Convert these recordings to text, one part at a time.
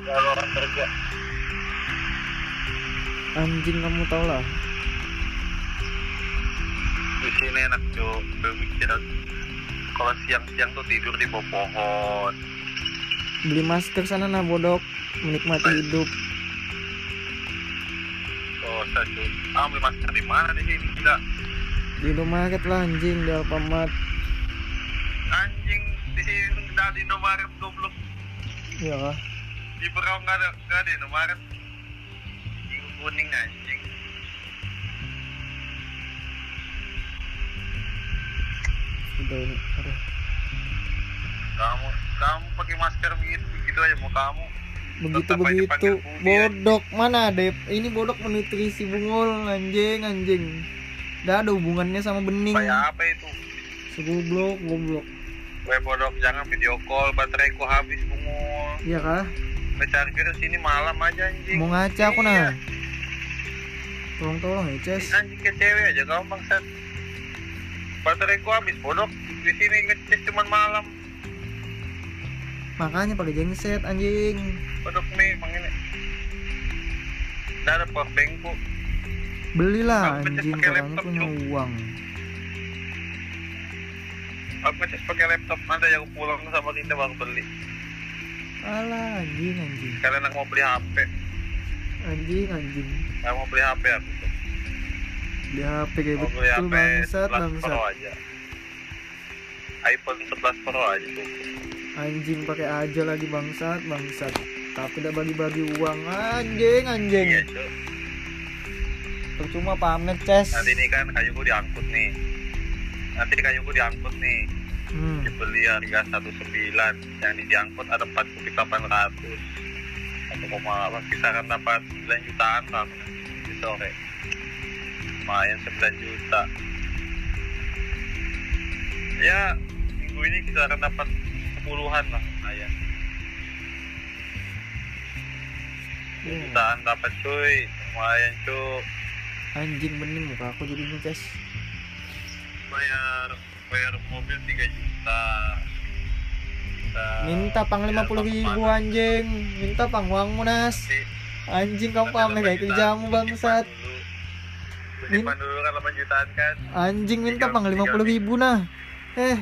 kalau orang kerja. Anjing, kamu tau lah. Di sini enak cuy, berpikiran. Kalau siang-siang tuh tidur di bawah pohon. Beli masker sana nah bodok, menikmati hidup. Oh, saya cuy. Beli masker di mana di sini? Tidak. Di Indomaret lah anjing, di Alfamart. Anjing, di sini nggak ada Indomaret goblok. Iya kah? Di Berau nggak ada Indomaret. Kuning anjing. Udah ini, aduh. Kamu pakai masker begitu aja mau kamu. Tetap aja Begitu panggil Budi, bodok mana ada ini bodok menutrisi bungul anjing. Gak ada hubungannya sama bening. kayak apa itu? Goblok. Bodok, jangan video call, bateraiku habis bungul. Iya kah? Charger sini malam aja anjing. Mau ngaca aku nah. Tolong ya Ces. Anjing ke cewek aja kamu bangsat. Bateraiku habis bodok. Di sini ngecas cuman malam. Makanya pakai genset anjing. Bodok nih emang ini. Nggak ada powerbank ku. Belilah Aku ngecas anjing, pakai karena laptop, punya Cuk. uang. Aku ngecas pakai laptop, nanti aku pulang sama kita baru beli. Alah anjing. Kalian mau beli HP? Anjing. Aku mau beli HP aku tuh. Di HP kayak Mau beli betul HP bangsat. 11 Pro aja. iPhone 11 Pro aja tuh. Anjing pakai aja lagi bangsat. Tapi udah bagi-bagi uang anjing. Iya cuy. Percuma pamer Ces. Nanti ini kan kayuku diangkut nih. Dibeli harga 19, yang diangkut ada 4.800. 1,8 kisaran dapat 9 jutaan lah di sore. Lumayan 9 juta. Ya minggu ini kisaran dapat 10-an lah lumayan. 9 jutaan dapat cuy, lumayan cuy. Anjing bening muka aku jadinya Ces. Bayar mobil 3 juta. Minta pang 50.000 anjing. Minta pang uangmu Nas. Anjing kamu pamer kayak kerjamu bangsat. Depan dulu kan 8 jutaan kan. Anjing minta pang 50.000 nah. 3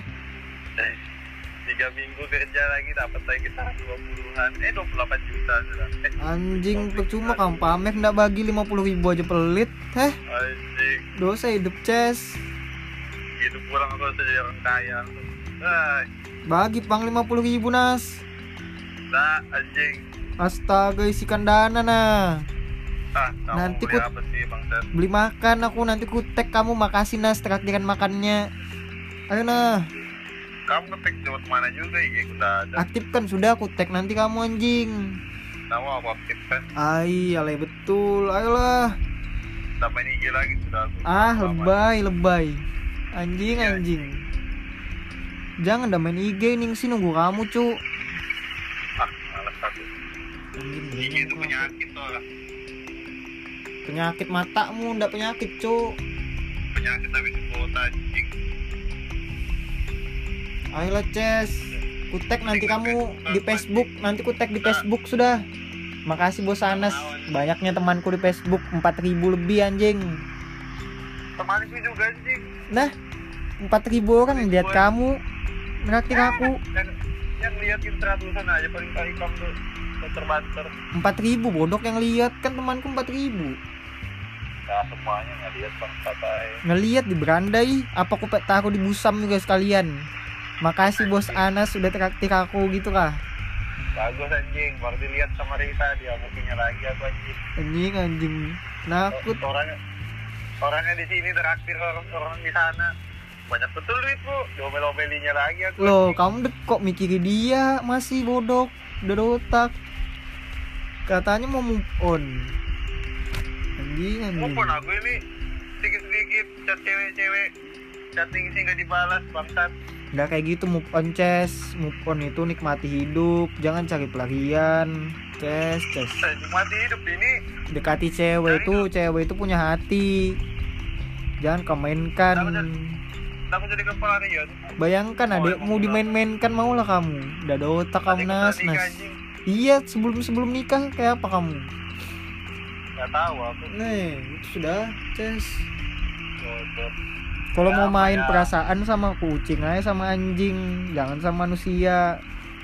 minggu kerja lagi dapat lagi kita 20-an. 28 juta sudah. Anjing percuma kamu pamer ndak bagi 50.000 aja pelit. Anjing. Dosa hidup Ces. Gitu pulang aku jadi orang kaya. Bagi pang 50.000 Nas. Nah anjing. Astaga isikan dana nah. Kamu Nanti beli apa sih Bang Seth? Beli makan aku, nanti ku tag kamu, makasih Nas traktiran makannya. Ayo nah. Kamu ngetek lewat mana juga ya? Udah ada. Aktifkan sudah, aku tag nanti kamu anjing. Nama aku aktifkan. Alay betul, ayolah. Tambah ini IG lagi sudah aku. Lebay. Anjing. Jangan dah main IG nih, sih nunggu kamu cu. Malas aku. IG itu penyakit tuh lah. Penyakit matamu, ndak penyakit cu. Penyakit habis kuota anjing. Ayolah Ces, ku tag nanti kamu di Facebook, nanti ku tag di Facebook sudah. Makasih Bos Anas, banyaknya temanku di Facebook, 4.000 lebih anjing. Temanku juga anjing. Nah, 4.000 orang lihat kamu, ngeraktir aku. Yang liatin 100-an aja paling kali kamu tuh banter-banter. 4.000 bodok yang lihat kan temanku 4.000. Nah semuanya ngeliat bang patai. Ngelihat di berandai, apa aku taruh di busam juga sekalian. Makasih Bos Anas sudah traktir aku gitu kah. Bagus anjing, baru dilihat sama Rita dia mungkinnya lagi aku anjing. Anjing. Nakut. Orangnya di sini traktir orang di sana. Banyak betul duit bu, diomel-omelinya lagi aku. Loh, kamu kok mikirin dia masih bodok, udah otak. Katanya mau move on. Anjing. Move on aku ini sedikit-sedikit chat cewek-cewek, chatting sih nggak dibalas bangsat. Nggak kayak gitu move on Ces. Move on itu nikmati hidup, jangan cari pelarian. Ces. Nikmati hidup ini. Dekati cewek itu punya hati. Jangan komenkan. Aku jadi pelarian. Bayangkan adekmu dimain-mainkan, maulah kamu. Udah ada otak kamu Nas. Iya, sebelum nikah kayak apa kamu? Nggak tahu aku. Nih, itu sudah, Ces. Bodoh. Kalau Ya, mau main apa ya? perasaan sama kucing aja sama anjing, jangan sama manusia.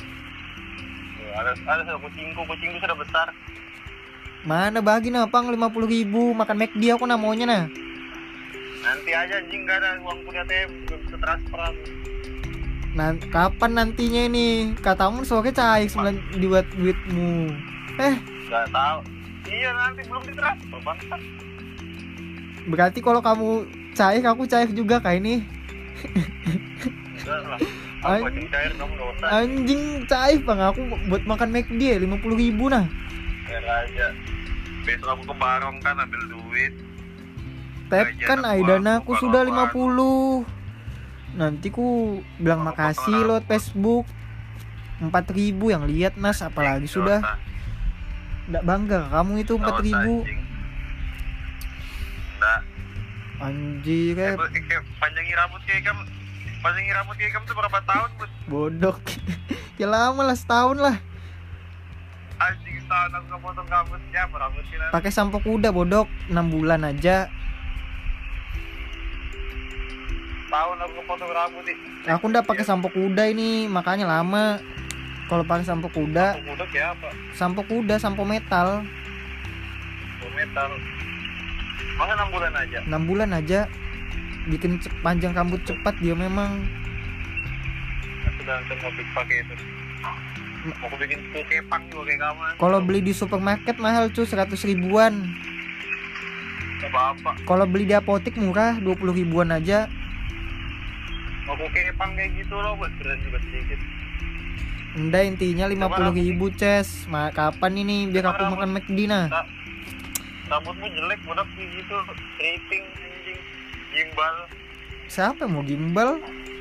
Ada kucingku sudah besar. Mana bagi napang 50.000 makan McD aku namanya nah. Nanti aja anjing, nggak ada uang kuliah ATM, belum bisa transferan. Kapan nantinya ini? Katamu sore cair 9 dibuat duitmu. Nggak tahu. Iya, nanti belum ditransfer bangsat. Berarti kalau kamu cair, aku cair juga kayak ini. Enggak lah. Aku anjing cair, kamu nggak usah. Anjing cair bang, aku buat makan McD 50.000 nah. Biar aja. Besok aku ke Barong kan ambil duit. Tap Gajian kan aku, Aidana aku aku sudah baru 50. Nanti ku bilang makasih lewat Facebook. 4.000 yang lihat nas, apalagi sudah. Nggak bangga kamu itu 4.000. Nggak. Anjir Panjangi rambut kayak kamu tuh berapa tahun, Bud? bodoh. Ya lama lah, setahun lah. Anjing, tahun aku nggak potong rambutnya, rambut sih. Pakai sampo kuda bodoh, 6 bulan aja. Tahun aku potong rambut nih. Aku udah pakai sampo kuda ini, makanya lama. Kalau pakai sampo kuda, Aku muda kayak apa? sampo metal. Metal. Masa 6 bulan aja? 6 bulan aja. Bikin panjang rambut cepat dia memang. Aku udah langsung mau pakai itu. Mau aku bikin tuh kepang juga kayak kamu. Kalau beli di supermarket mahal cuy, 100 ribuan. Apa-apa. Kalau beli di apotek murah, 20 ribuan aja. Mau aku kepang kayak gitu loh, buat berat juga sedikit. Enggak, intinya 50.000 Ces. Kapan ini biar aku makan McD nah? Rambutmu jelek, bodoh kayak gitu. Keriting, anjing, gimbal. Siapa yang mau gimbal?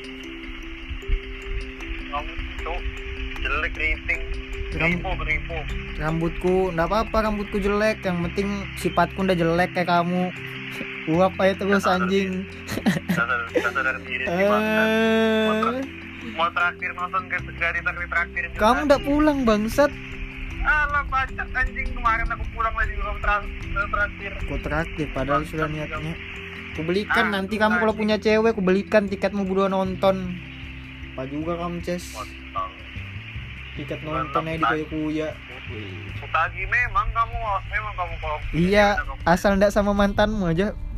Rambut itu jelek, keriting. Keripu. Rambutku, enggak apa-apa rambutku jelek. Yang penting sifatku udah jelek kayak kamu. Uap aja terus anjing. Dasar diri sih bangsat. Mau terakhir nonton ke terakhir. Kamu udah pulang bangsat. Alah bacot anjing, kemarin aku pulang lagi belum terakhir. Aku terakhir padahal sudah niatnya. Aku belikan nanti kamu kalau punya cewek, aku belikan tiketmu berdua nonton. Apa juga kamu Ces? Tiket nonton aja di Kuya. Utagi memang kamu kalau iya, asal ndak sama mantanmu aja